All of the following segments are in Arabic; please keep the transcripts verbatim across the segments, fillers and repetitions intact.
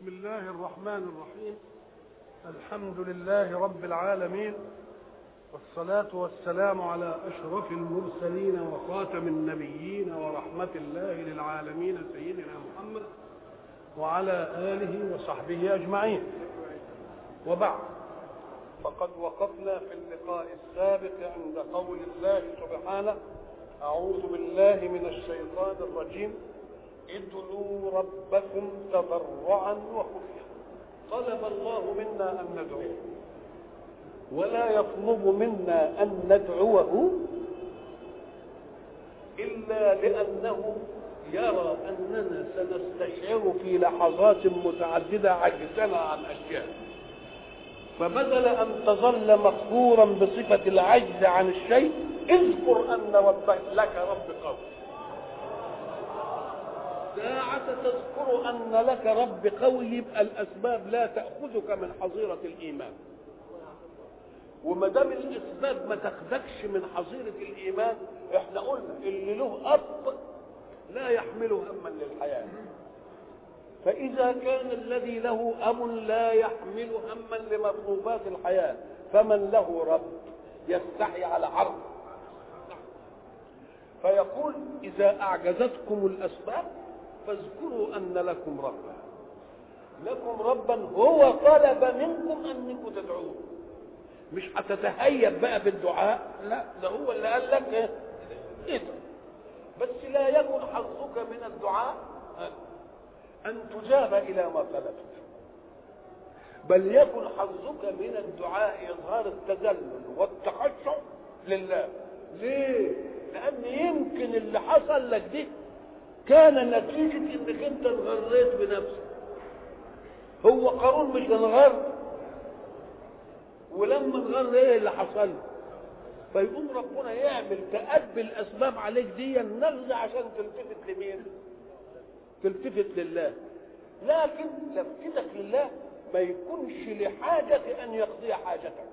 بسم الله الرحمن الرحيم. الحمد لله رب العالمين، والصلاة والسلام على أشرف المرسلين وخاتم النبيين ورحمة الله للعالمين سيدنا محمد وعلى آله وصحبه أجمعين. وبعد، فقد وقفنا في اللقاء السابق عند قول الله سبحانه: أعوذ بالله من الشيطان الرجيم، ادعوا ربكم تضرعا وخفيا. طلب الله منا أن ندعوه، ولا يطلب منا أن ندعوه إلا لأنه يرى أننا سنستشعر في لحظات متعددة عجزنا عن أشياء، فبدل أن تظل مقهورا بصفة العجز عن الشيء، اذكر أن ربك لك رب قوي. ساعة تذكر أن لك رب قوي يبقى الأسباب لا تأخذك من حظيرة الإيمان، وما دام الأسباب ما تاخدكش من حظيرة الإيمان، احنا قلنا اللي له أب لا يحمل هما للحياة، فإذا كان الذي له أب لا يحمل هما لمطلوبات الحياة، فمن له رب يستحي على عرض. فيقول: إذا أعجزتكم الأسباب فاذكروا أن لكم ربا، لكم ربا هو طلب منكم أنكم تدعوه. مش هتتهيب بقى بالدعاء، لا، ده هو اللي قال لك ايه إيه ده. بس لا يكن حظك من الدعاء أن تجاب إلى ما طلبت، بل يكن حظك من الدعاء إظهار التذلل والتخشع لله. ليه؟ لأن يمكن اللي حصل لك دي كان نتيجة انك انت انغريت بنفسك. هو قارون مش انغر، ولما انغر ايه اللي حصل؟ فيقوم ربنا يعمل تأبي الاسباب عليك دي النغزة عشان تلتفت لمين؟ تلتفت لله. لكن لفتك لله ما يكونش لحاجة ان يقضي حاجتك،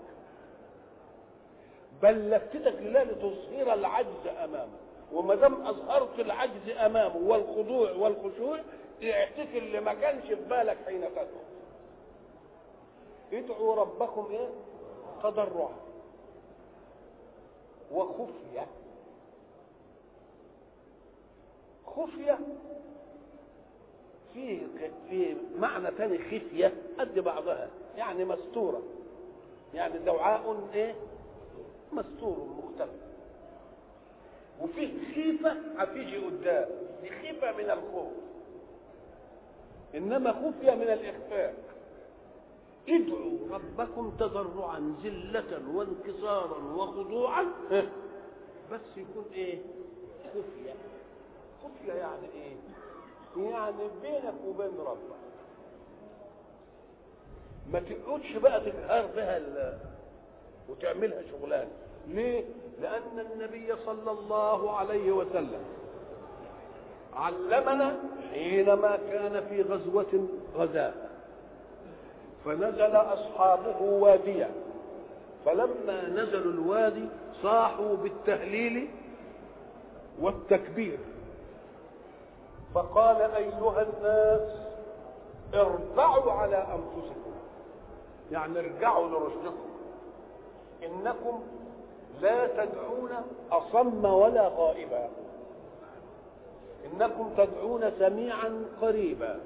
بل لفتك لله لتظهر العجز امامه، وما دام اظهرت العجز امامه والخضوع والخشوع اعتك اللي ما كانش في بالك حين تدعو. ادعوا ربكم ايه؟ تضرعا وخفية. خفية في في معنى ثاني، خفية قد بعضها، يعني مستورة، يعني دعاء ايه؟ مستور مختلف. وفيه خيفة هتيجي قدام، دي خيفة من الخوف، إنما خفية من الإخفاء. ادعوا ربكم تضرعا ذلة وانكسارا وخضوعا، بس يكون إيه؟ خفية. خفية يعني إيه؟ يعني بينك وبين ربك، ما تقعدش بقى تجهر بها وتعملها شغلانة. ليه؟ لأن النبي صلى الله عليه وسلم علمنا حينما كان في غزوة غزاها، فنزل أصحابه واديا، فلما نزلوا الوادي صاحوا بالتهليل والتكبير، فقال: أيها الناس ارجعوا على أنفسكم، يعني ارجعوا لرشدكم، إنكم لا تدعون أصم ولا غائبا، إنكم تدعون سميعا قريبا،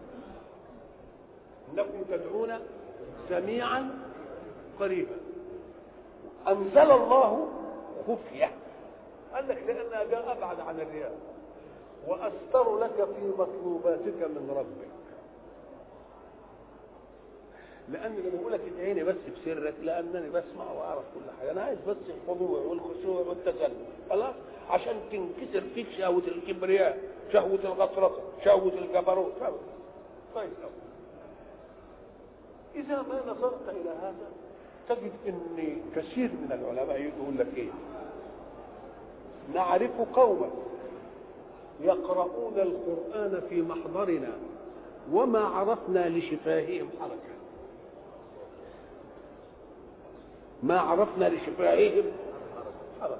إنكم تدعون سميعا قريبا. أنزل الله خفية، قال لك لأنها جاء أبعد عن الرياء، وأستر لك في مطلوباتك من ربك. لأن لما بقول لك ادعيني بس بسرك، لأنني بسمع وأعرف كل حاجة، أنا عايز بس الخضوع والخشوع والتذلل، خلاص، عشان تنكسر فيك شهوة الكبرياء، شهوة الغطرسة، شهوة الجبروت. طيب، إذا ما نظرت إلى هذا تجد أن كثير من العلماء يقول لك إيه؟ نعرف قوما يقرؤون القرآن في محضرنا وما عرفنا لشفاههم حركة، ما عرفنا لشفاههم حركة.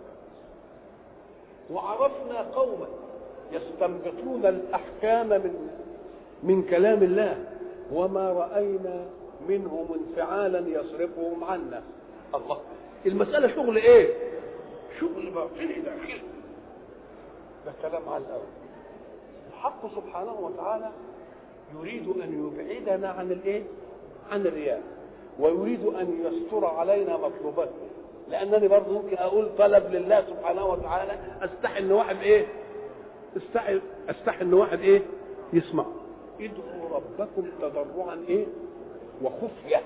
وعرفنا قوما يستنبطون الأحكام من من كلام الله وما رأينا منهم انفعالا يصرفهم عنا. الله، المسألة شغل ايه؟ شغل باطني داخلي. ده كلام على الأول. الحق سبحانه وتعالى يريد أن يبعدنا عن الايه؟ عن الرياء، ويريد أن يستر علينا مطلوباتنا. لأنني برضه ممكن أقول طلب لله سبحانه وتعالى أستحي إن واحد إيه؟ أستحي أستحي إن واحد إيه؟ يسمع. ادعوا ربكم تضرعا إيه؟ وخفية.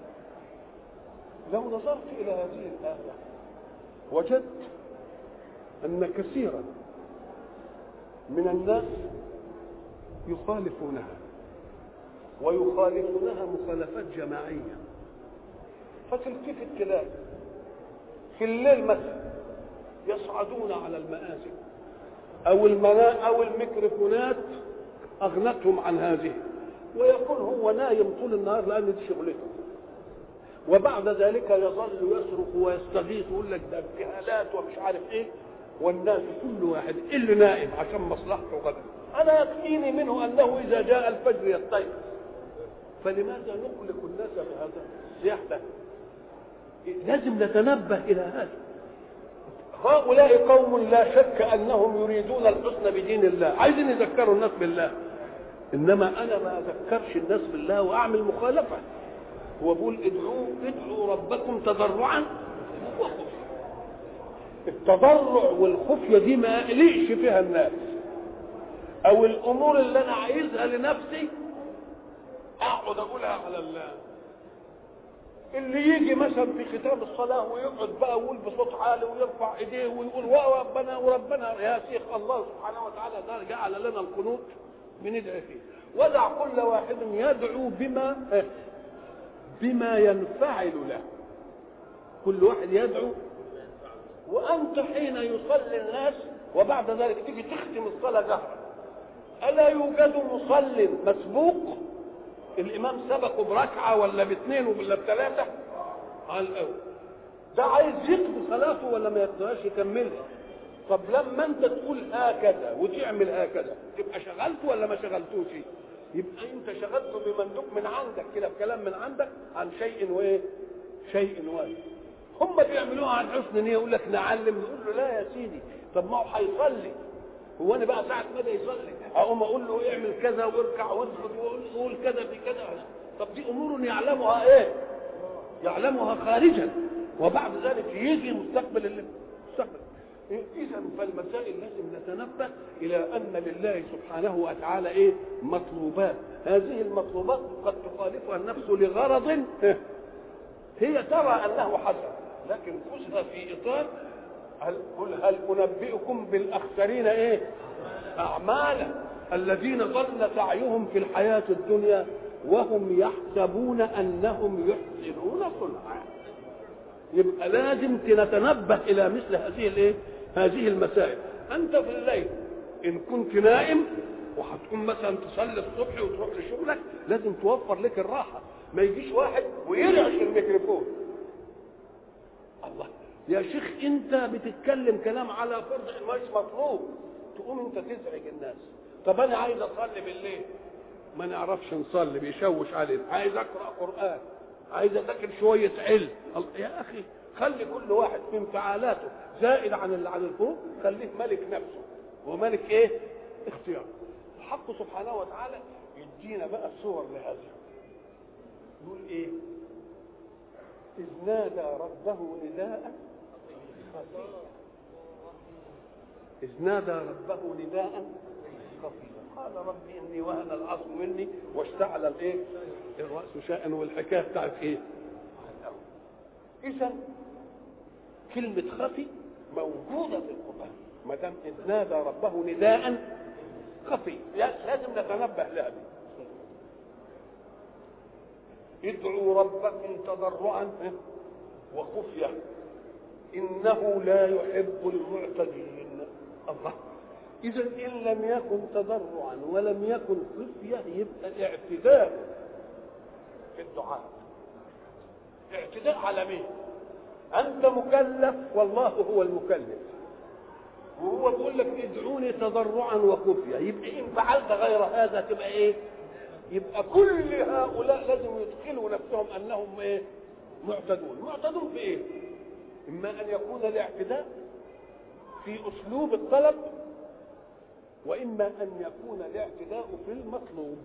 لو نظرت إلى هذه الآية وجدت أن كثيرا من الناس يخالفونها، ويخالفونها مخالفات جماعية. فتلتفت تلاقي في الليل مثلا يصعدون على المآذن أو المناء أو الميكروفونات أغنتهم عن هذه، ويكون هو نايم طول النهار لأن دي شغلته، وبعد ذلك يظل يصرخ ويستغيث ويقول لك ده ابتهالات ومش عارف ايه، والناس كل واحد اللي نائم عشان مصلحته غدا. انا يكفيني منه انه اذا جاء الفجر يستيقظ، فلماذا نقلق الناس بهذا الصياح ده؟ لازم نتنبه الى هذا. هؤلاء قوم لا شك انهم يريدون الحسن بدين الله، عايزين يذكروا الناس بالله، انما انا ما اذكرش الناس بالله واعمل مخالفه. هو بيقول ادعوا ادعوا ربكم تضرعا وخفيا. التضرع والخفيه دي ما اقلقش فيها الناس، او الامور اللي انا عايزها لنفسي اقعد اقولها على الله. اللي يجي مثلا في ختام الصلاه ويقعد بقى ويقول بصوت عالي ويرفع ايديه ويقول وربنا وربنا يا شيخ، الله سبحانه وتعالى ده جعل لنا القنوت بندعي فيه. ودع كل واحد يدعو بما بما ينفعل له. كل واحد يدعو، وانت حين يصلي الناس وبعد ذلك تيجي تختم الصلاه جهرا، الا يوجد مصل مسبوق الامام سبقه بركعه ولا باثنين ولا بثلاثه؟ على الاول ده عايز يقضي صلاته ولا ما يقضيهاش يكملها. طب لما انت تقول هكذا وتعمل هكذا تبقى شغلته ولا ما شغلتوش؟ يبقى انت شغلته بمندوب من عندك كده، بكلام من عندك عن شيء وايه؟ شيء واحد. هم بيعملوها عن حسن نيه، يقول لك نعلم، نقول له لا يا سيدي، طب ما هو هيصلي، هو انا بقى ساعه ما يصلي اقوم اقول له اعمل كذا واركع واسجد وقول كذا في كذا؟ طب دي امور يعلمها ايه؟ يعلمها خارجا، وبعد ذلك يجي مستقبل المستقبل. اذا فالمسائل لازم نتنبه الى ان لله سبحانه وتعالى ايه؟ مطلوبات. هذه المطلوبات قد تخالفها النفس لغرض هي ترى انه حسن، لكن خذها في اطار هل قل هل انبئكم بالاخسرين ايه؟ اعمالا الذين ضل سعيهم في الحياه الدنيا وهم يحسبون انهم يحسنون صنعا. يبقى لازم نتنبه الى مثل هذه الايه؟ هذه المسائل. انت في الليل ان كنت نائم وهتقوم مثلا تصلي الصبح وتروح لشغلك، لازم توفر لك الراحه. ما يجيش واحد ويرعش الميكروفون. الله يا شيخ، انت بتتكلم كلام على فرض مش مطلوب، تقوم انت تزعج الناس. طب انا عايز اصلي بالليل، ما نعرفش نصلي، بيشوش علينا. عايز اقرا قران، عايز اذاكر شويه علم. يا اخي خلي كل واحد في انفعالاته زائد عن اللي عن الفوق، خليه ملك نفسه وملك ايه؟ اختيار. الحق سبحانه وتعالى يدينا بقى صور لهذا. يقول ايه؟ اذ نادى ربه نداء خفيا. اذ نادى ربه نداء خفيا قال ربي اني وهن العظم مني واشتعل الايه؟ الراس شيئا. والحكايه بتاعت ايه؟ اذا كلمه خفي موجوده في القران. ما دام اذ نادى ربه نداء خفي لازم نتنبه لها. ادعوا ربكم تضرعا وخفية إنه لا يحب المعتدين. الله، إذا إن لم يكن تضرعا ولم يكن خفية يبقى اعتداء في الدعاء. اعتداء على مين؟ أنت مكلف والله هو المكلف، وهو بيقول لك ادعوني تضرعا وخفية. يبقى إن فعلت غير هذا تبقى إيه؟ يبقى كل هؤلاء لازم يدخلوا نفسهم انهم ايه؟ معتدون. معتدون في ايه؟ اما ان يكون الاعتداء في اسلوب الطلب، واما ان يكون الاعتداء في المطلوب.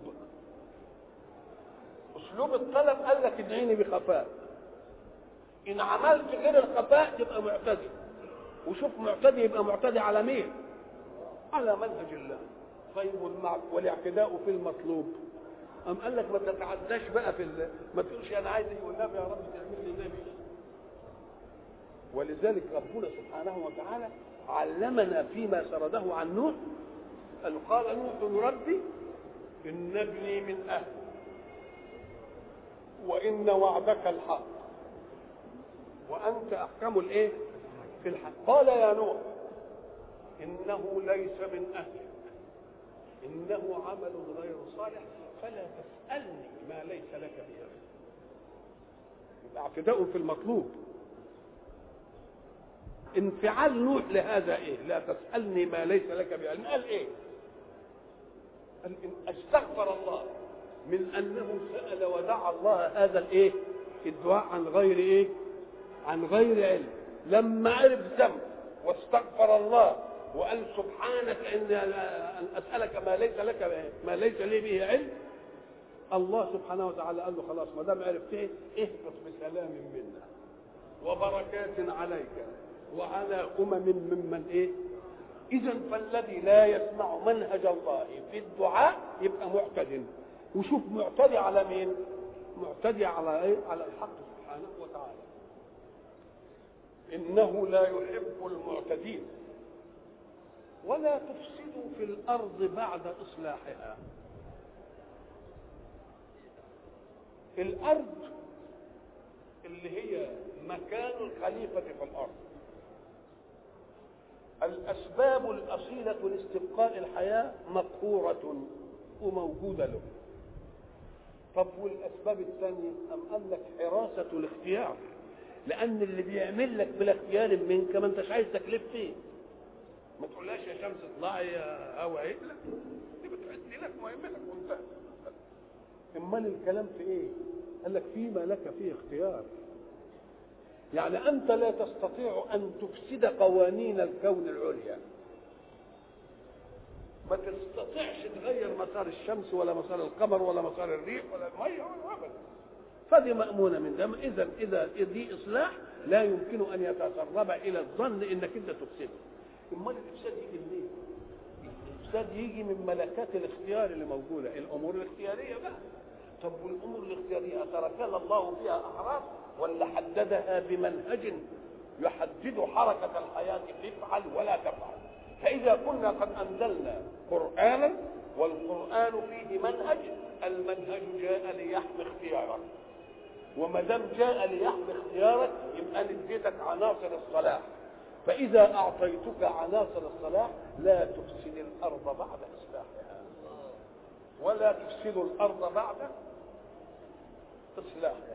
اسلوب الطلب قال لك ادعيني بخفاء، ان عملت غير الخفاء تبقى معتدي. وشوف معتدي يبقى معتدي على مين؟ على منهج الله. طيب والاعتداء في المطلوب أم قال لك ما تتعداش بقى في ال... ما تقولش انا عايز والنبي يا رب تعمل لي نبي. ولذلك ربنا سبحانه وتعالى علمنا فيما سرده عن نوح أن قال نوح ربي إن ابني من أهلي وإن وعدك الحق وأنت أحكم الإيه؟ في الحق. قال يا نوح إنه ليس من أهلك إنه عمل غير صالح فلا تسألني ما ليس لك به علم. يبقى اعتداء في المطلوب. انفعال نوح لهذا ايه؟ لا تسألني ما ليس لك به علم. قال ايه؟ قال إن استغفر الله من انه سأل ودعا الله هذا الايه؟ الدعاء عن غير ايه؟ عن غير علم. لما عرف ذنب واستغفر الله وقال سبحانك ان ان اسالك ما ليس لك ما ليس لي به علم، الله سبحانه وتعالى قال له خلاص ما دام عرفت ايه؟ اهبط بسلام منا وبركات عليك وعلى امم ممن ايه؟ اذا فالذي لا يسمع منهج الله في الدعاء يبقى معتد. وشوف معتدي على مين؟ معتدي على ايه؟ على الحق سبحانه وتعالى. انه لا يحب المعتدين ولا تفسدوا في الارض بعد اصلاحها. الارض اللي هي مكان الخليفه في الارض، الاسباب الاصيله لاستبقاء الحياه مقهوره وموجوده له. طب والاسباب الثانيه ام قال لك حراسه الاختيار، لان اللي بيعمل لك بلا اختيار منك ما انتش عايز تكلف فيه. ما تقولهاش يا شمس اطلعي يا هوا ايه، لا دي بتعدي لك مهمتك وانتهى. امال الكلام في ايه؟ قال لك فيما لك فيه اختيار. يعني انت لا تستطيع ان تفسد قوانين الكون العليا، ما تستطيعش تغير مسار الشمس ولا مسار القمر ولا مسار الريح ولا الميه ولا ابدا. فدي مأمونة من دم. اذا اذا دي اصلاح لا يمكن ان يتسرب الى الظن انك انت تفسده. امال الافساد يجي منين؟ الافساد يجي من ملكات الاختيار اللي موجوده، الامور الاختياريه بقى. طب والامور الاختياريه تركها الله فيها احراف ولا حددها بمنهج يحدد حركه الحياه تفعل ولا تفعل؟ فاذا كنا قد انزلنا قرانا والقران فيه منهج، المنهج جاء ليحمي اختيارك، وما دام جاء ليحمي اختيارك يبقى نديتك عناصر الصلاح. فإذا أعطيتك عناصر الصلاح لا تفسد الأرض بعد إصلاحها ولا تفسد الأرض بعد إصلاحها.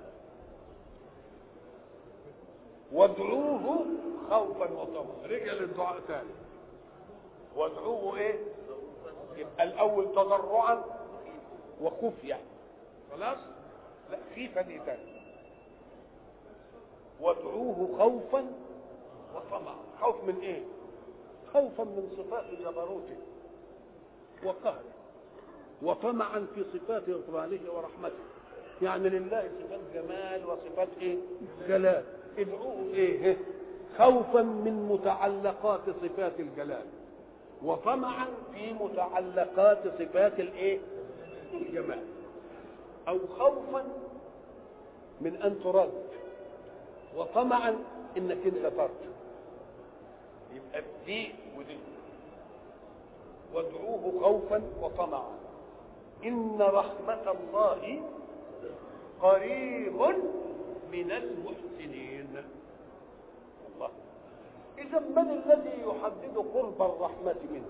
وادعوه خوفا وطمعا. رجع للدعاء ثاني. وادعوه إيه؟ يبقى الأول تضرعا وخفية. خلاص؟ لا خيفة دي ثاني. وادعوه خوفا وطمع. خوف من ايه؟ خوفا من صفات جبروته وقهره، وطمعا في صفات غفرانه ورحمته. يعني لله صفات جمال وصفات ايه؟ جلال. ادعوه ايه؟ خوفا من متعلقات صفات الجلال وطمعا في متعلقات صفات الايه؟ الجمال. او خوفا من ان ترد وطمعا انك انت ترجو. يبقى دي ودي. وادعوه خوفا وطمعا ان رحمة الله قريب من المحسنين. الله. اذا من الذي يحدد قرب الرحمة منه؟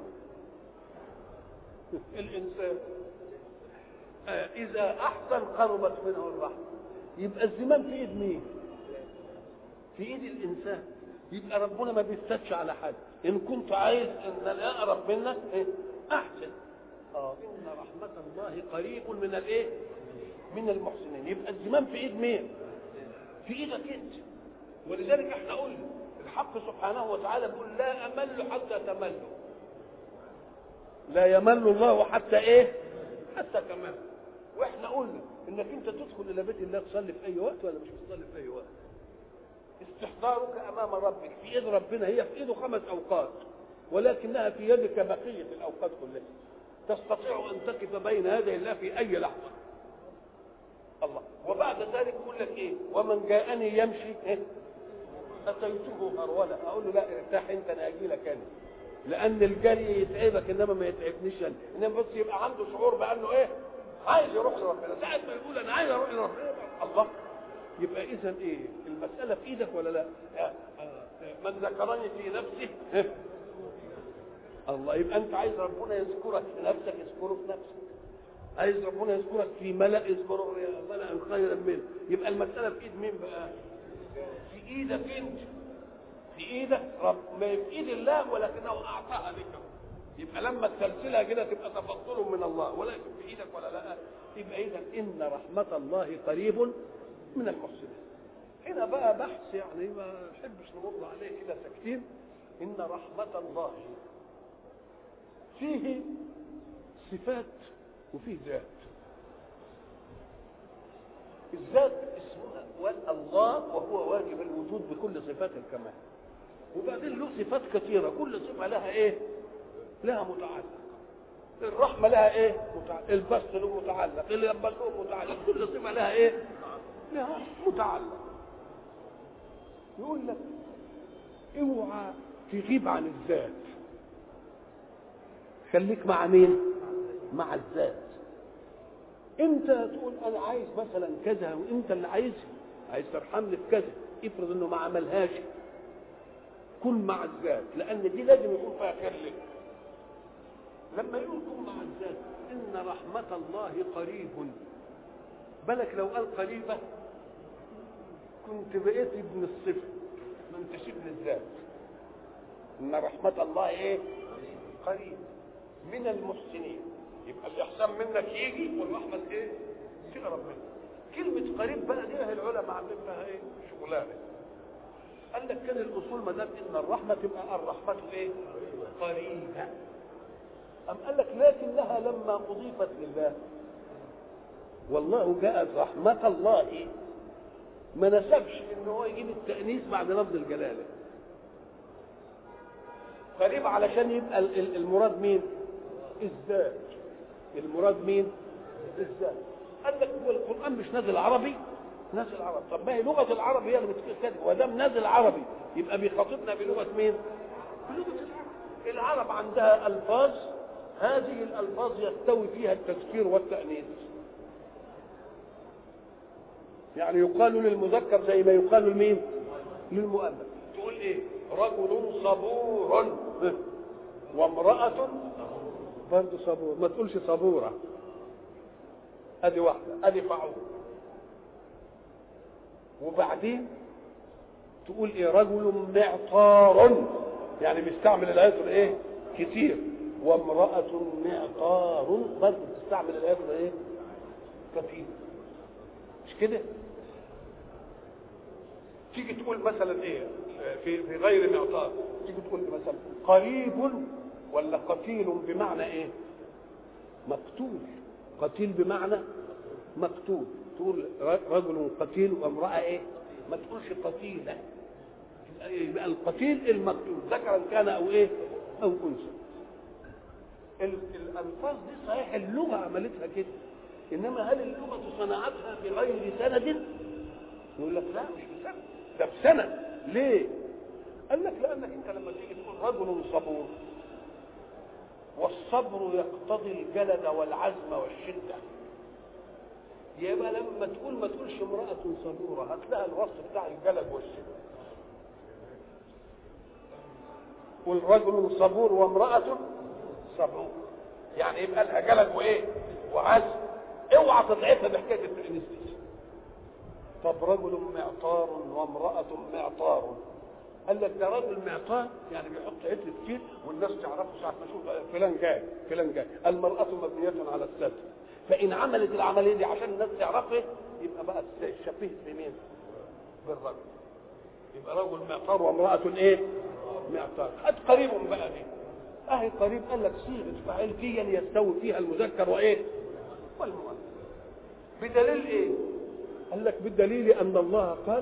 الانسان. آه اذا احسن قربت منه الرحمة. يبقى الزمان في ايد مين؟ في ايد الانسان. يبقى ربنا ما بيفتش على حد. ان كنت عايز ان انا اقرب منك ايه؟ احسن. اه ان رحمه الله قريب من الايه؟ من المحسنين. يبقى الزمام في ايد مين؟ في ايدك انت. ولذلك احنا قلنا الحق سبحانه وتعالى بيقول لا امل حتى تملوا. لا يمل الله حتى ايه؟ حتى تمل. واحنا قلنا انك انت تدخل الى بيت الله تصلي في اي وقت ولا مش تصلي في اي وقت؟ استحضارك امام ربك في ايد ربنا، هي في ايده خمس اوقات ولكنها في يدك بقيه الاوقات كلها. تستطيع ان تقف بين يدي الله في اي لحظه. الله. وبعد ذلك يقول لك ايه؟ ومن جاءني يمشي إيه؟ اتيته هروله. اقول له لا ارتاح انت، انا اجي لك انا. لان الجري يتعبك انما ما يتعبنيش انا. انما بس يبقى عنده شعور بانه ايه؟ عايز يروح لربنا. ساعه ما يقول انا عايز اروح لربنا الله. يبقى اذا ايه؟ المساله في ايدك ولا لا؟ من ذكرني في نفسه إيه؟ الله. يبقى انت عايز ربنا يذكرك في نفسك يذكره في نفسك. عايز ربنا يذكرك في ملأ يذكره ملأ خيرا منه. يبقى المساله في ايد مين بقى؟ في ايدك انت. في ايدك رب، ما في ايد الله ولكنه اعطاها لك. يبقى لما تسلسلها كده تبقى تفضل من الله، ولكن في ايدك ولا لا؟ يبقى اذا ان رحمه الله قريب من المحسنين. هنا بقى بحث يعني ما نحبش نمر عليه كده ساكتين. ان رحمه الله فيه صفات وفيه ذات. الذات اسمها الله وهو واجب الوجود بكل صفات الكمال. وبعدين له صفات كثيره، كل صفه لها ايه؟ لها متعلق. الرحمه لها ايه؟ متعلق. البسط له متعلق، اليبس له متعلق، كل صفه لها ايه؟ لها متعلق. يقول لك اوعى تغيب عن الذات، خليك مع مين؟ مع الذات. انت تقول انا عايز مثلا كذا وانت اللي عايزها، عايز ترحمني في كذا، افرض انه ما عملهاش، كن مع الذات، لان دي لازم يكون فيها خير لك. لما يقول كن مع الذات ان رحمه الله قريب، بالك لو قال قريبه كنت بقيت ابن الصفر، ما انتش ابن الذات. ان رحمه الله ايه؟ قريب من المحسنين. يبقى الاحسان منك يجي والرحمه ايه؟ تقرب منك. كلمه قريب بقى دي العلماء عاملين فيها ايه؟ شغلانه. قال لك كان الاصول ما دام ان الرحمه تبقى الرحمه ايه؟ قريبه. ام قال لك لكنها لما اضيفت لله والله جاءت رحمه الله، ما نسبش ان هو يجيب التانيث بعد لفظ الجلاله. قريب علشان يبقى المراد مين؟ الذات. المراد مين؟ الذات. قال لك هو القران مش نازل عربي؟ نازل عربي. طب ما هي لغه العرب هي اللي بتقول كده، ودام نازل عربي يبقى بيخاطبنا بلغه مين؟ بلغه العرب. العرب عندها الفاظ، هذه الالفاظ يستوي فيها التذكير والتانيث. يعني يقال للمذكر زي ما يقال لمين؟ للمؤنث. تقول ايه؟ رجل صبور وامرأة برضه صبور، ما تقولش صبورة. ادي واحدة، ادي فعول. وبعدين تقول ايه؟ رجل معطار، يعني بيستعمل العطر ايه؟ كتير. وامرأة معطار برضه بتستعمل العطر ايه؟ كتير. مش كده؟ تيجي تقول مثلا ايه في في غير معطار، تيجي تقول مثلا قريب ولا قتيل بمعنى ايه؟ مقتول. قتيل بمعنى مقتول. تقول رجل قتيل وامرأة ايه؟ ما تقولش قتيلة. يبقى القتيل المقتول ذكرا كان او ايه؟ او انثى. الالفاظ دي صحيح اللغة عملتها كده، انما هل اللغة صنعتها بغير سند؟ يقول لك لا مش بسند، ده بسند. ليه؟ قال لك لانك انت لما تيجي تقول رجل صبور، والصبر يقتضي الجلد والعزم والشده، يبقى لما تقول ما تقولش امراه صبوره، هتلاقي الوصف بتاع الجلد والشده. قول رجل صبور وامراه صبور، يعني يبقى لها جلد وايه؟ وعزم. اوعى تضعفها بحكايه التانيث دي. طب رجل معطار وامراه معطار، قال لك ده راجل معطاء، يعني بيحط عدل كتير والناس تعرفه ساعه ما تشوف فلان جاي فلان جاي. المراه مبنيه على الستر، فان عملت العمليه دي عشان الناس تعرفه يبقى بقى شبيه بمين؟ بالرجل. يبقى رجل معطار وامراه ايه؟ معطار. قد قريب بقى دي اهي قريب، قال لك صيغه فاعل فيا يستوي فيها المذكر وايه؟ والمؤنث. بدليل ايه؟ قال لك بالدليل ان الله قال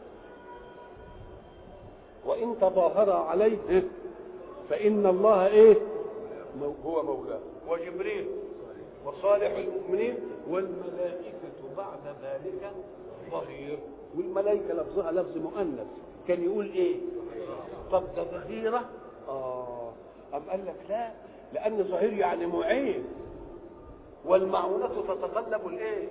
وان تظاهر عليه إيه؟ فان الله ايه؟ هو مولاه وجبريل وصالح المؤمنين والملائكه بعد ذلك ظهير. والملائكه لفظها لفظ مؤنث، كان يقول ايه؟ طب ده ظهيره؟ اه أم قال لك لا، لأن ظهير يعني معين، والمعونة تتطلب الايه؟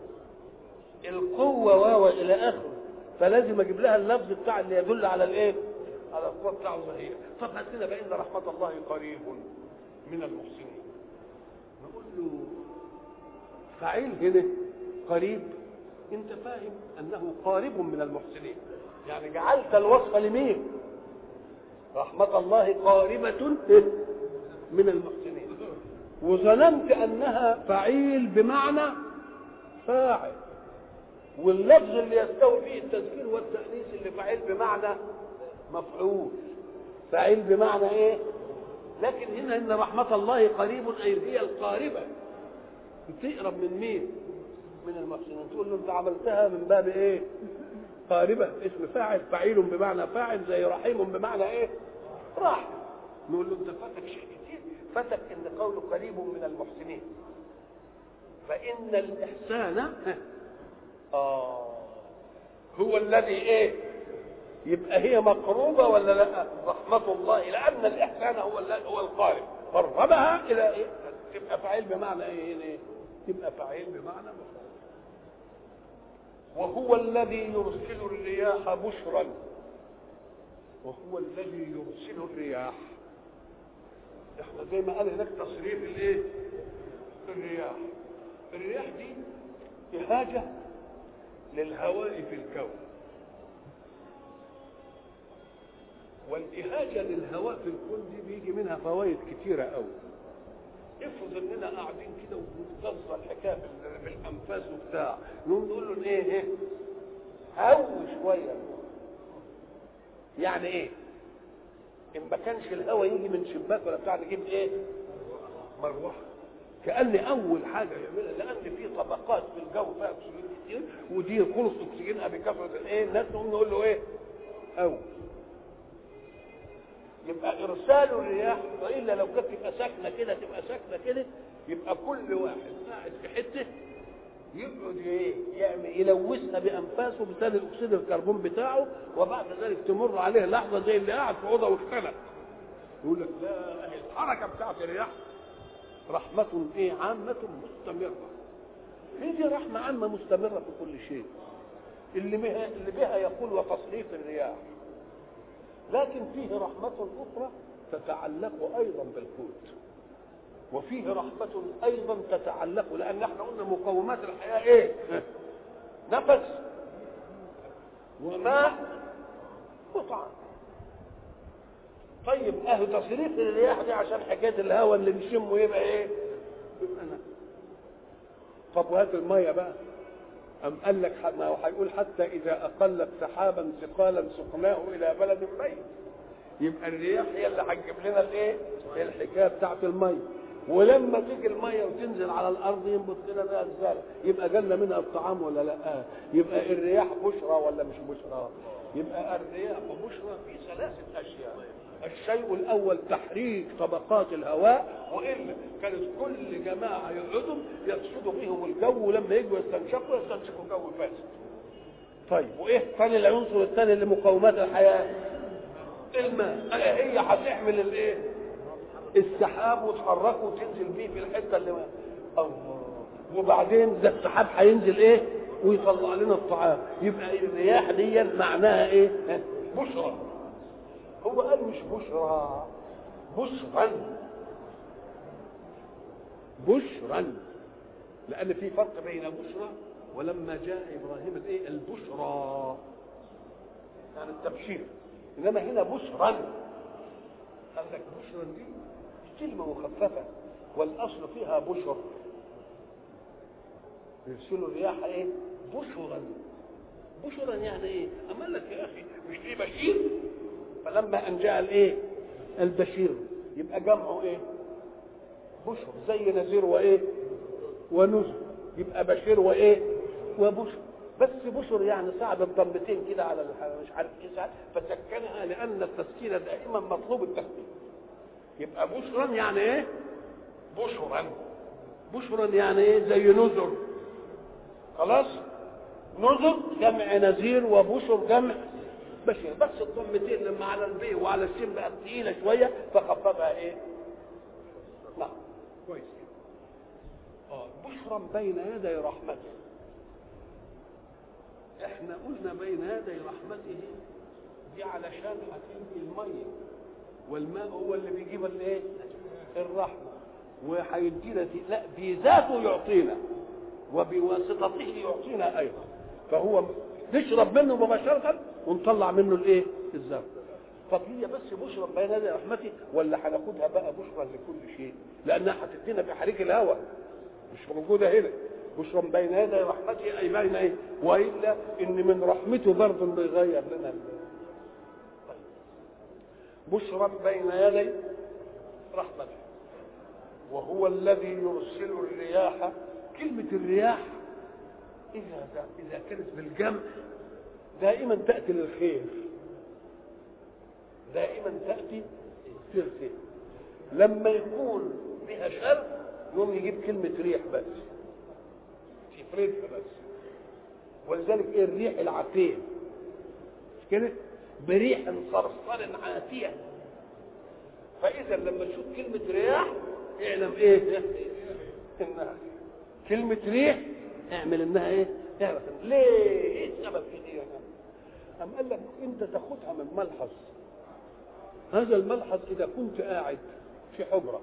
القوة واو إلى آخره، فلازم أجيب لها اللفظ بتاع اللي يدل على الايه؟ على القوة بتاع ظهير. طب هاتنا بقى إن رحمة الله قريب من المحسنين. نقول له فعيل هنا قريب، أنت فاهم أنه قارب من المحسنين، يعني جعلت الوصف لمين؟ رحمة الله قاربة من المحسنين، وظننت أنها فعيل بمعنى فاعل، واللفظ اللي يستوي فيه التذكير والتأنيث اللي فعيل بمعنى مفعول، فعيل بمعنى ايه؟ لكن هنا ان رحمة الله قريب اي هي القاربة، بتقرب من مين؟ من المحسنين. تقول له انت عملتها من باب ايه؟ قاربة، اسم فاعل، فعيل بمعنى فاعل، زي رحيم بمعنى ايه؟ راح. نقول له انت فاتك شيء كتير، فاتك ان قوله قريب من المحسنين، فان الاحسان اه هو الذي ايه؟ يبقى هي مقروبه ولا لا؟ رحمه الله، لان الاحسان هو هو القارب، قربها الى ايه؟ تبقى فاعل بمعنى ايه؟ إيه؟ تبقى فاعل بمعنى مفعول. وهو الذي يرسل الرياح بشرا، وهو الذي يرسل الرياح. احنا زي ما قال هناك تصريف الايه؟ الرياح. الرياح دي إهاجة للهواء في الكون، والإهاجة للهواء في الكون دي بيجي منها فوائد كتيرة قوي. افرض اننا قاعدين كده وبنتصل الحكايه بالانفاس وبتاع، نقوم نقول له ايه ايه؟ هو شويه. يعني ايه؟ ان ما كانش الهواء يجي من شباك ولا بتاع، نجيب ايه؟ مروحه. كأن اول حاجه يعملها، لان في طبقات في الجو فيها اكسجين كتير، ودي خلص اكسجينها بكثره الايه؟ الناس نقوم نقول له ايه؟ او يبقى ارسال الرياح، والا لو كانت تبقى ساكنه كده تبقى ساكنه كده، يبقى كل واحد قاعد في حته يقعد ايه؟ يعمل يلوثها بانفاسه بثاني اكسيد الكربون بتاعه، وبعد ذلك تمر عليه لحظه زي اللي قاعد في اوضه واختلف. يقول لك لا، الحركه بتاعت الرياح رحمه ايه؟ عامه مستمره. هي دي رحمه عامه مستمره في كل شيء، اللي بها اللي بها يقول وتصريف الرياح. لكن فيه رحمة أخرى تتعلق أيضا بالقوت، وفيه رحمة أيضا تتعلق، لأن احنا قلنا مقومات الحياة إيه؟ نفس وماء وطعام. طيب أهو تصريف الرياح دي عشان حكاية الهواء اللي نشمه يبقى إيه؟ يبقى نفس. طب وهات المية بقى، أم قال لك ما هو هيقول حتى إذا أقلت سحابا ثقالا سقناه إلى بلد ميت. يبقى الرياح هي اللي هتجيب لنا الإيه؟ الحكاية بتاعت المية. ولما تيجي المية وتنزل على الأرض ينبت لنا بها الزرع، يبقى جالنا منها الطعام ولا لا؟ يبقى الرياح بشرى ولا مش بشرى؟ يبقى الرياح بشرى في ثلاثة أشياء. الشيء الأول تحريك طبقات الهواء، وإلا كانت كل جماعة يقعدوا يقصدوا فيهم الجو، ولما يجوا يستنشقوا يستنشقوا جو فاسد. طيب وإيه ثاني العنصر الثاني لمقومات الحياة؟ الماء. هي هتحمل الإيه؟ السحاب وتحركه وتنزل بيه في الحتة اللي ما الله، وبعدين ده السحاب هينزل إيه؟ ويطلع لنا الطعام. يبقى الرياح دي معناها إيه؟ بشرى. هو قال مش بشرى، بشرا، بشرا، لأن في فرق بين بشرى ولما جاء إبراهيم الإيه؟ البشرى، يعني التبشير. انما هنا بشرا. قال لك بشرا دي كلمه مخففه والاصل فيها بشر. يرسلوا الرياح ايه؟ بشرا. بشرا يعني ايه؟ اما قال لك يا اخي مش في بشير؟ فلما ان جاء الايه؟ البشير يبقى جمعه ايه؟ بشر، زي نذير وايه؟ ونذر، يبقى بشير وايه؟ وبشر. بس بشر يعني صعب الضمتين كده على مش عارف ايه ساعات فسكنها لان التسكين دائما مطلوب التسكين. يبقى بشرا يعني ايه؟ بشرا. بشرا يعني ايه؟ زي نذر. خلاص؟ نذر جمع نذير وبشر جمع بشير، بس الضمتين لما على البي وعلى السين بقت ثقيله شويه فخففها ايه؟ نعم كويس. اه بشرا بين يدي رحمته. احنا قلنا بين يدي رحمته دي علشان هتيجي الميه والماء هو اللي بيجيب الايه؟ الرحمه. وهيدينا لا بذاته يعطينا وبواسطته يعطينا ايضا. فهو نشرب منه مباشره ونطلع منه الايه؟ الزرع. طب هي بس بشرى بين يدي رحمتي ولا هناخدها بقى بشرى لكل شيء؟ لانها هتدينا في حريق الهواء مش موجوده هنا. بشرى بين يدي رحمتي اي بين ايه؟ والا ان من رحمته برضه انه يغير لنا. طيب بشرى بين يدي رحمته وهو الذي يرسل الرياح. كلمه الرياح اذا اذا كانت بالجمع دائما تاتي للخير، دائما تاتي للخير. لما يكون بها شر يوم يجيب كلمه ريح بس يفردها بس. ولذلك ايه الريح العقيم مش كده؟ بريح صرصر عاتيه. فاذا لما تشوف كلمه رياح اعلم ايه؟ انها كلمه ريح اعمل انها ايه؟ اعرف ليه؟ ايه السبب في دي؟ أم قال لك انت تاخدها من ملحظ. هذا الملحظ اذا كنت قاعد في حجره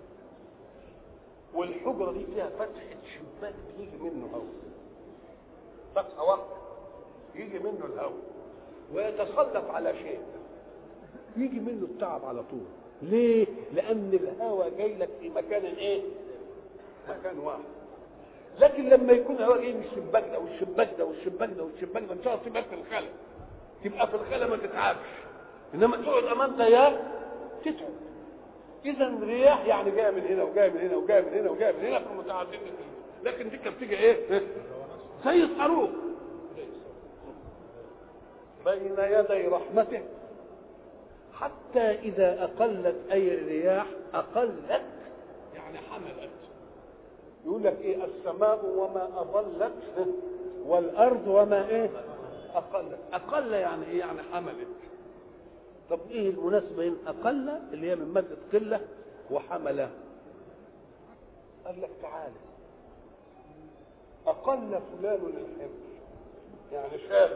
والحجره دي فيها فتحه شباك بيجي منه هواء، فتحه واحده يجي منه الهواء ويتسلط على شيء يجي منه التعب على طول. ليه؟ لان الهواء جاي لك في مكان ايه؟ مكان واحد. لكن لما يكون الهواء جاي من الشباك ده والشباك ده والشباك ده والشباك ده ان شاء الله تبقى في الخلا، تبقى في الخلا ما تتعبش، انما تقعد امام تيار تتعب. اذا الرياح يعني جايه من هنا وجايه من هنا وجايه من هنا وجايه من هنا في متعدده، لكن دي كانت بتيجي ايه؟ زي الصاروخ بين يدي رحمته حتى اذا اقلت اي الرياح اقلت يعني حملت. يقول لك ايه؟ السماء وما اظلت والارض وما ايه؟ اقلت. اقل يعني ايه؟ يعني حملت. طب ايه المناسبه بين اقل اللي هي من ماده قله وحمله؟ قال لك تعالى اقل فلان الحمل يعني شاب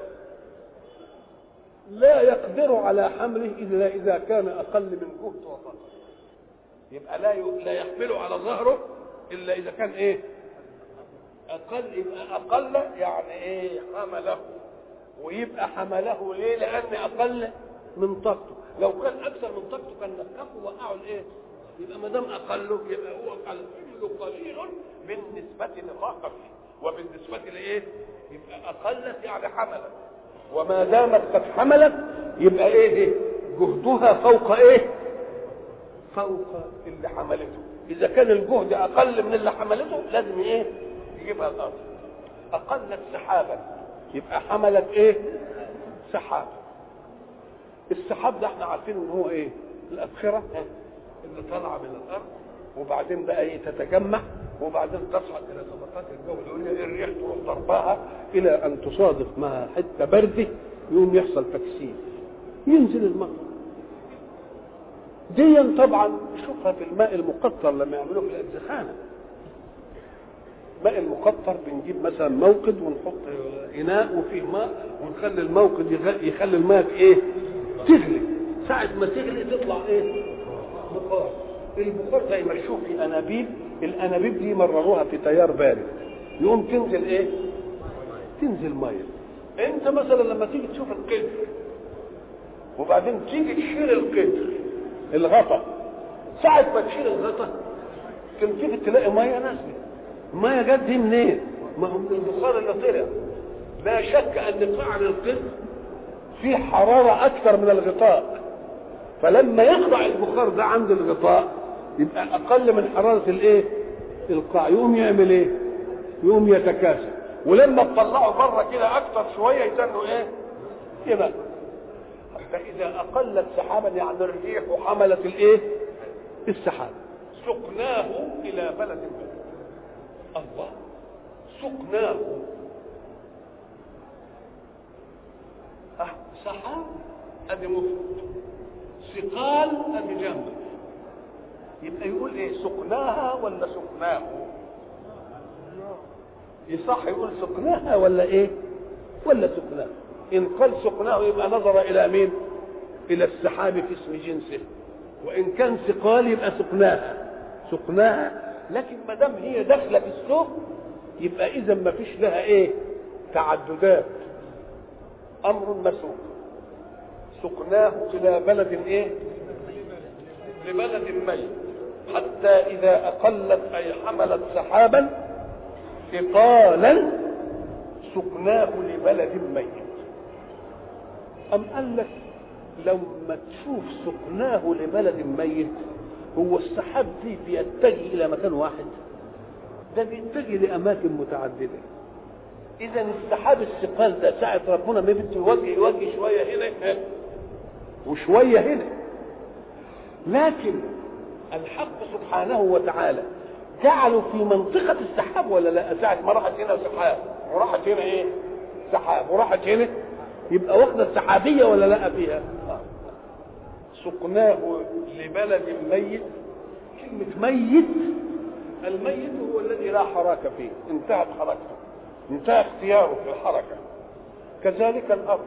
لا يقدر على حمله الا اذا كان اقل من جهد وطاقه. يبقى لا لا يحمله على ظهره الا اذا كان ايه؟ اقل. يبقى اقل يعني ايه؟ حمله. ويبقى حمله ليه؟ لان اقل من طاقته. لو كان اكثر من طاقته كان نفخه وقعوا الايه؟ يبقى ما دام اقله يبقى هو الحمل قليل بالنسبه لطاقته وبالنسبه لايه؟ يبقى اقلت يعني حملت. وما دامت قد حملت يبقى ايه؟ جهدها فوق ايه؟ فوق اللي حملته. اذا كان الجهد اقل من اللي حملته لازم ايه؟ يجيبها الارض. اقلت سحابا يبقى حملت ايه؟ سحاب. السحاب ده احنا عارفين ان هو ايه؟ الابخره اللي طالعه من الارض وبعدين بقى ايه؟ تتجمع وبعدين تصعد الى طبقات الجو العليا. الريح تروح ضربها الى ان تصادف مع حته برده يقوم يحصل تكسير ينزل المطر. دي طبعا نشوفها في الماء المقطر لما يعملوه في الادزخانه. الماء المقطر بنجيب مثلا موقد ونحط اناء وفيه ماء ونخلي الموقد يخلي الماء في ايه؟ تغلي. ساعه ما تغلي تطلع ايه؟ بخار. البخار زي ما تشوف في انابيب، الانابيب دي مرروها في تيار بارد يقوم تنزل ايه؟ تنزل ميه. انت مثلا لما تيجي تشوف القدر وبعدين تيجي تشيل القدر الغطا، ساعة ما تشيل الغطا تيجي تلاقي ميه نازله. الميه جت دي منين؟ ما هو من البخار اللي طلع. لا شك ان قعر القدر فيه حراره اكثر من الغطاء، فلما يخضع البخار ده عند الغطاء يبقى اقل من حراره الايه؟ القاع، يقوم يعمل ايه؟ يقوم يتكاثر، ولما تطلعه بره كده اكثر شويه يتنوا ايه؟ يبقى فاذا اقلت سحابا يعني الريح وحملت الايه؟ السحاب، سقناه الى بلد ميت. الله، سقناه أه سحاب ادي مفرد، ثقال ادي جمع، يبقى يقول ايه؟ سقناها ولا سقناه؟ يصح يقول سقناها ولا ايه؟ ولا سقناه. ان قال سقناه يبقى نظر الى مين؟ الى السحاب في اسم جنسه، وان كان ثقال يبقى سقناها سقناها. لكن ما دام هي داخله في السوق يبقى اذا ما فيش لها ايه؟ تعددات، امر مسوق. سقناه الى بلد ايه؟ لبلد ميت، حتى اذا اقلت اي حملت سحابا ثقالا سقناه لبلد ميت. ام قال لك لما تشوف سقناه لبلد ميت، هو السحاب دي بيتجه الى مكان واحد؟ ده بيتجه لاماكن متعدده. اذا السحاب الثقال ده ساعه ربنا ما بده يوجه يوجه شويه هنا وشويه هنا، لكن الحق سبحانه وتعالى جعلوا في منطقه السحاب ولا لا؟ ساعه ما راحت هنا سحاب وراحت هنا ايه؟ سحاب وراحت هنا، يبقى واخده السحابيه ولا لا فيها؟ سقناه لبلد ميت. كلمه ميت، الميت هو الذي لا حركه فيه، انتهت حركته، انتهى اختياره في الحركه. كذلك الارض،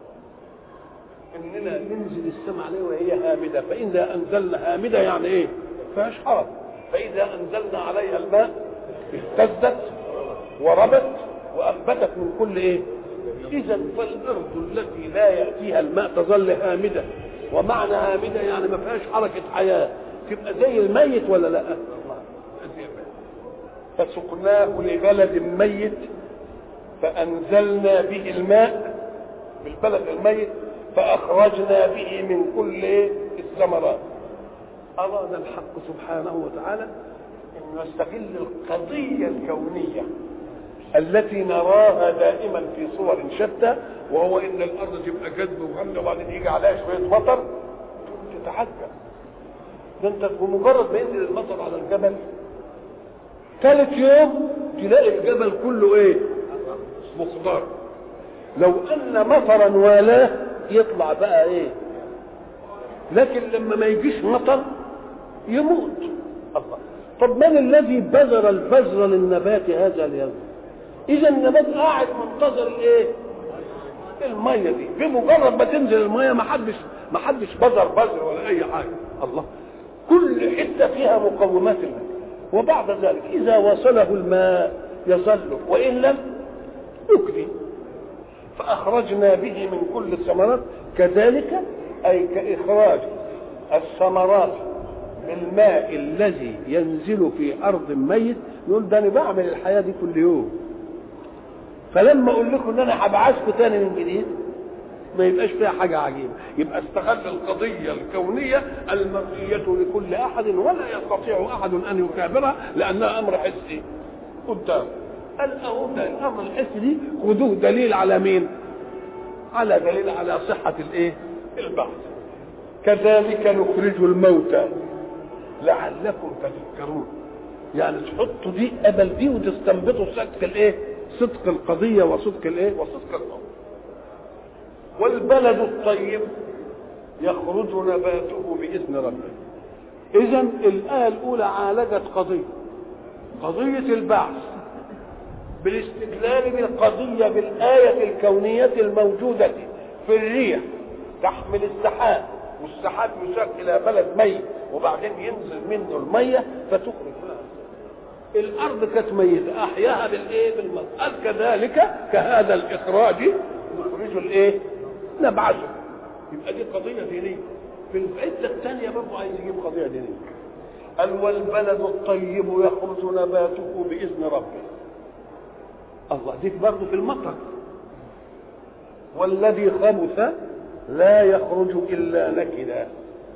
اننا ننزل السماء عليه وهي هامده، فاذا انزلنا هامده يعني ايه؟ فيهاش حركه. فاذا انزلنا عليها الماء اهتزت وربت وانبتت من كل ايه؟ اذا فالارض التي لا ياتيها الماء تظل هامده، ومعنى هامده يعني ما فيهاش حركه حياه، تبقى زي الميت ولا لا؟ فسقناه لبلد ميت فانزلنا به الماء بالبلد الميت فاخرجنا به من كل الثمرات. اراد الحق سبحانه وتعالى ان يستغل القضيه الكونيه التي نراها دائما في صور شتى، وهو ان الارض تبقى جذب وغمه وبعدين يجي عليها شويه مطر تتعجب. ده انت بمجرد ما ينزل المطر على الجبل ثالث يوم تلاقي الجبل كله ايه؟ مخضر. لو ان مطرا والاه يطلع بقى ايه؟ لكن لما ما يجيش مطر يموت. الله، طب من الذي بذر البذر للنبات هذا اليوم؟ اذا النبات قاعد منتظر الايه؟ الميه دي. بمجرد ما تنزل الميه ما حدش ما حدش بذر بذر ولا اي حاجه. الله، كل حته فيها مقومات الماء، وبعد ذلك اذا وصله الماء يظل وان لم يكفي. فاخرجنا به من كل الثمرات. كذلك اي كاخراج الثمرات بالماء الذي ينزل في ارض ميت. يقول ده انا بعمل الحياه دي كل يوم، فلما اقول لكم ان انا هبعثكم تاني من جديد ما يبقاش فيها حاجه عجيبه. يبقى استغل القضيه الكونيه المرئيه لكل احد ولا يستطيع احد ان يكابرها لانها امر حسي قدام. قال اهو ده الامر الحسي دي خذوه دليل على مين؟ على دليل على صحه الايه؟ البحث. كذلك نخرج الموتى لعلكم تذكرون. يعني تحطوا دي قبل دي وتستنبطوا صدق الايه؟ صدق القضيه وصدق الايه؟ وصدق الامر. والبلد الطيب يخرج نباته باذن ربه. اذا الايه الاولى عالجت قضيه قضيه البعث بالاستدلال بالقضيه بالايه الكونيه الموجوده في الريح تحمل السحاب، والسحاب يساق الى بلد ميت وبعدين ينزل منه الميه فتخرج منها. الارض كانت ميته احياها بالايه؟ بالماء. قال كذلك كهذا الاخراج نخرج الايه؟ نبعثه. يبقى دي قضيه دينيه. في الحته الثانيه برضه عايز يجيب قضيه دينيه، قال والبلد الطيب يخرج نباته باذن ربه. الله، دي برضه في المطر. والذي خبث لا يخرج الا نكدا.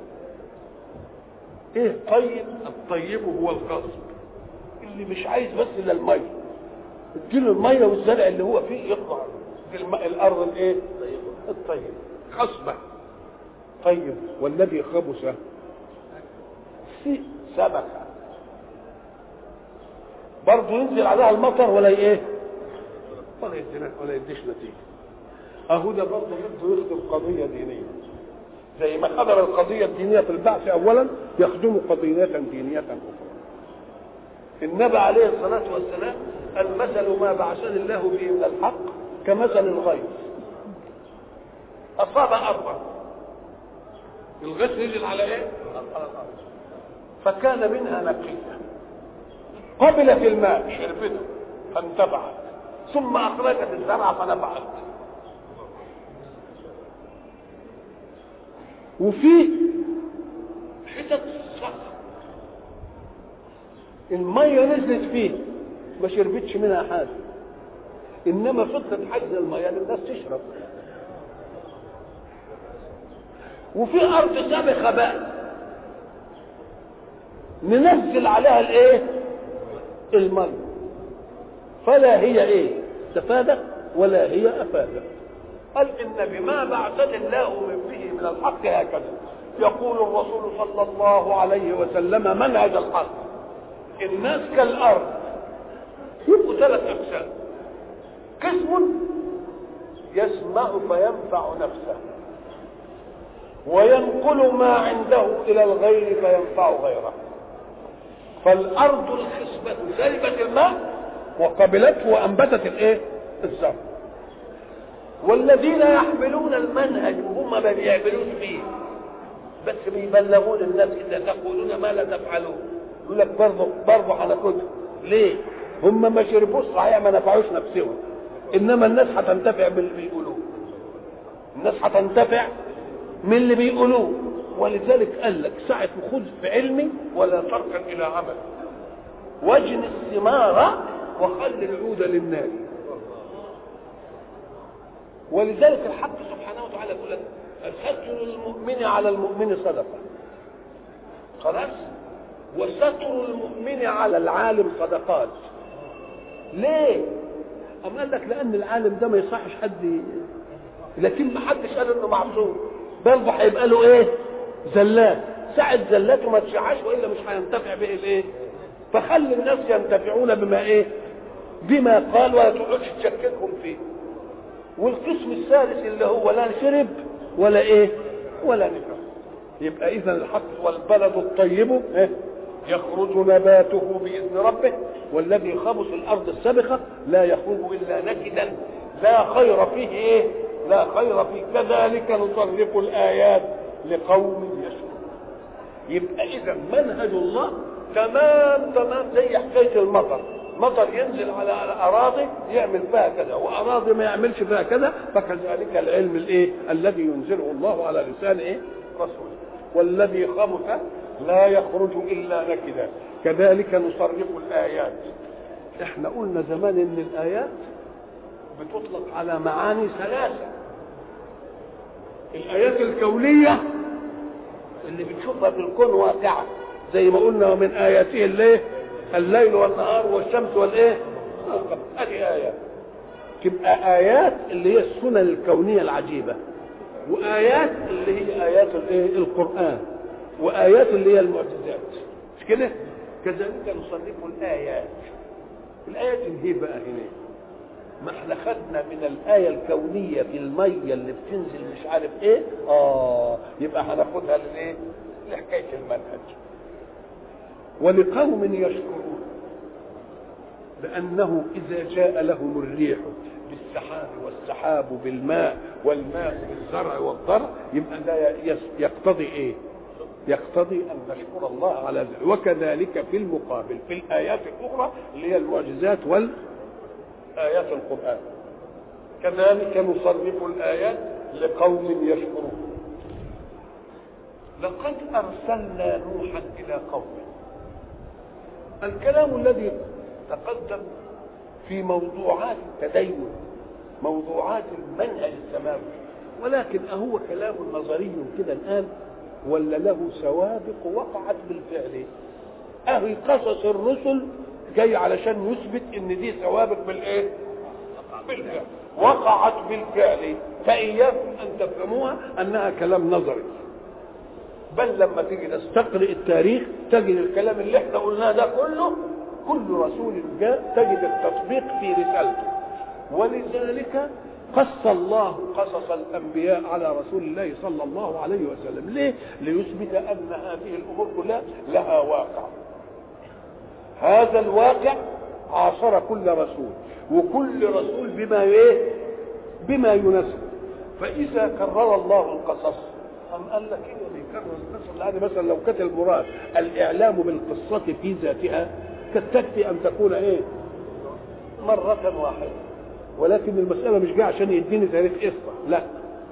ايه طيب؟ الطيب هو الغصب، اللي مش عايز بس الا الميه، اديله الميه والزرع اللي هو فيه يطلع في الارض الايه؟ الطيب خصبه. طيب والذي خبث في سبكه برضه ينزل عليها المطر ولا ايه؟ ولا يدينا ولا يديش نتيجه. اهو ده برضه بده يخدم قضيه دينيه، زي ما خدم القضيه الدينيه في البعث اولا يخدم قضيه دينيه اخرى. النبي عليه الصلاه والسلام المثل ما بعثني الله به من الحق كمثل الغيث اصاب ارضا. الغيث نزل على ايه؟ على الارض، فكان منها نقيه قبلت الماء شربته فانتفعت، ثم اخرجت الزرع فنفعت. وفي حتت صخر الميه نزلت فيه ما شربتش منها حاجه، انما فضلت حجز الميه للناس تشرب. وفي ارض سابخه بقى ننزل عليها الايه؟ الميه، فلا هي ايه؟ استفادت ولا هي افادت. قال ان بما بعثني الله من به من الحق هكذا يقول الرسول صلى الله عليه وسلم منهج الحق. الناس كالارض يبقوا ثلاث اقسام: قسم يسمع فينفع نفسه وينقل ما عنده الى الغير فينفع غيره. فالارض الخصبة شربت الماء وقبلته وانبتت الايه؟ الزرع. والذين يحملون المنهج وهم ما بيعملوش فيه بس بيبلغون الناس اذا تقولون ما لا تفعلون، يقول لك برضه برضه هناخدها. ليه؟ هم ما شربوش صحيح، ما نفعوش نفسهم، انما الناس هتنتفع باللي بيقولوه. الناس هتنتفع من اللي بيقولوه. ولذلك قال لك ساعة خذ في علمي ولا تركن الى عمل، واجن الثمار وخل العود للنار. ولذلك الحق سبحانه وتعالى يقول لك ستر المؤمن على المؤمن صدقه، خلاص، وستر المؤمن على العالم صدقات. ليه؟ أم قال لك لأن العالم ده ما يصحش حد، لكن ما حدش قال إنه معصوم، برضه هيبقى له إيه؟ زلات. ساعة زلاته ما تشعش وإلا مش هينتفع به الإيه؟ فخلي الناس ينتفعون بما إيه؟ بما قال، ولا تقعدش تشككهم فيه. والقسم الثالث اللي هو لا شرب ولا ايه ولا نفع. يبقى اذا الحق والبلد الطيب يخرج نباته باذن ربه والذي خبث الارض السابخه لا يخرج الا نكدا لا خير فيه ايه؟ لا خير فيه. كذلك نصرف الايات لقوم يشكرون. يبقى اذا منهج الله تمام تمام زي حكايه المطر. مطر ينزل على اراضي يعمل فيها كذا، واراضي ما يعملش فيها كذا. فكذلك العلم الايه الذي ينزله الله على لسان ايه؟ رسوله. والذي خبث لا يخرج الا نكدا كذلك نصرف الايات. احنا قلنا زمان ان الايات بتطلق على معاني ثلاثه: الايات الكونيه اللي بتشوفها في الكون واقعه زي ما قلنا، ومن اياته الليل الليل والنهار والشمس والايه؟ هذه ايات. تبقى ايات اللي هي السنن الكونيه العجيبه، وايات اللي هي ايات الايه؟ القران، وايات اللي هي المعجزات. مش كده؟ كذلك نصنف الايات. الايات اللي هي بقى هنا ما احنا خدنا من الايه الكونيه في الميه اللي بتنزل مش عارف ايه، اه يبقى هناخدها للايه؟ لحكايه المنهج. ولقوم يشكرون، لأنه إذا جاء لهم الريح بالسحاب والسحاب بالماء والماء بالزرع والضرع يبقى ده يقتضي إيه؟ يقتضي أن نشكر الله على ذلك. وكذلك في المقابل في الآيات الأخرى اللي هي المعجزات والآيات القرآن كذلك نصرف الآيات لقوم يشكرون. لقد أرسلنا نوحا إلى قومه. الكلام الذي تقدم في موضوعات التدين، موضوعات المنهج السماوي، ولكن أهو كلام نظري كده الآن ولا له سوابق وقعت بالفعل؟ أهي قصص الرسل جاي علشان يثبت ان دي سوابق بالايه؟ بالفعل، وقعت بالفعل، فإياكم أن تفهموها أنها كلام نظري، بل لما تيجي تستقرئ التاريخ تجد الكلام اللي احنا قلناه ده كله، كل رسول جاء تجد التطبيق في رسالته. ولذلك قص الله قصص الأنبياء على رسول الله صلى الله عليه وسلم. ليه؟ ليثبت أن هذه الأمور كلها لها واقع. هذا الواقع عاصر كل رسول، وكل رسول بما ايه؟ بما يناسب. فإذا كرر الله القصص أم قال لك إيه بيكرر القصص؟ يعني مثلا لو كانت المراد الإعلام بالقصة في ذاتها كانت تكفي أن تكون إيه؟ مرة واحدة، ولكن المسألة مش جاية عشان يديني تاريخ قصة، لا،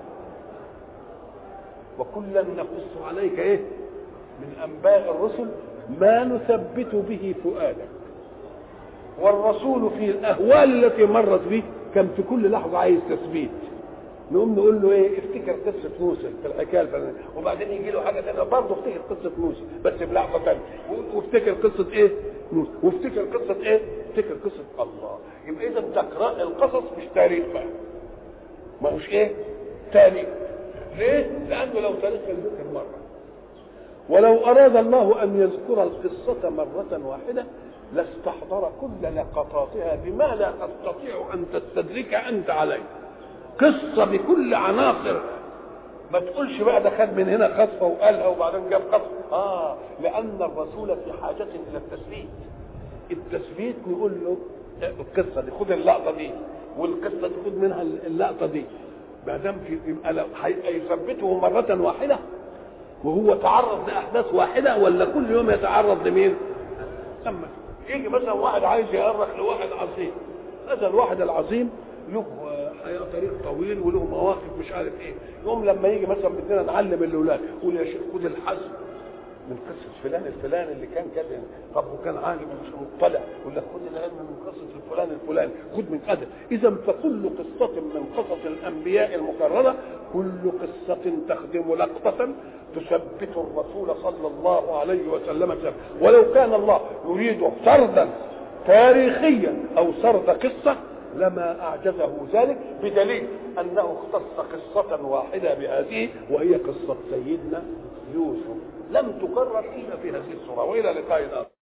وكلا نقص عليك إيه؟ من أنباء الرسل ما نثبت به فؤادك. والرسول في الأهوال التي مرت به كان في كل لحظة عايز تثبيت. نقوم نقول له ايه؟ افتكر قصة موسى في الحكاية الفلانية، وبعدين يجي له حاجة ثانية برضه افتكر قصة موسى بس بلحظة ثانية، وافتكر قصة ايه؟ موسى، وافتكر قصة ايه؟ افتكر قصة الله. يبقى إذا تقرأ القصص مش تاريخ بقى، ما هوش ايه؟ تاريخ. ليه؟ لأنه لو تاريخ كان ذكر مرة، ولو أراد الله أن يذكر القصة مرة واحدة لاستحضر كل لقطاتها بما لا تستطيع أن تستدرك أنت عليه. قصة بكل عناصرها، ما تقولش بقى ده خد من هنا خطفة وقالها وبعدين جاب خطفة. آه لأن الرسول في حاجة إلى التثبيت. التثبيت نقول له القصة دي خد اللقطة دي، والقصة دي خد منها اللقطة دي، ما دام في يبقى لو هيثبته مرة واحدة وهو تعرض لأحداث واحدة، ولا كل يوم يتعرض لمين؟ أما يجي مثلا واحد عايز يأرخ لواحد عظيم، هذا الواحد العظيم له حياة طريق طويل وله مواقف مش عارف ايه، يوم لما يجي مثلا بدنا نعلم الاولاد يقول يا شيخ خد الحزم من قصة فلان الفلاني اللي كان كذا، طب وكان عالم مش مطلع، يقول لك خد العلم من قصة الفلان الفلاني، خد من كذا. إذا فكل قصة من قصص الأنبياء المكررة كل قصة تخدم لقطة تثبت الرسول صلى الله عليه وسلم. ولو كان الله يريد سردا تاريخيا أو سرد قصة لما أعجزه ذلك، بدليل أنه اختص قصة واحدة بهذه وهي قصة سيدنا يوسف، لم تكرر إلا في هذه الصورة. وإلى لقاء آخر.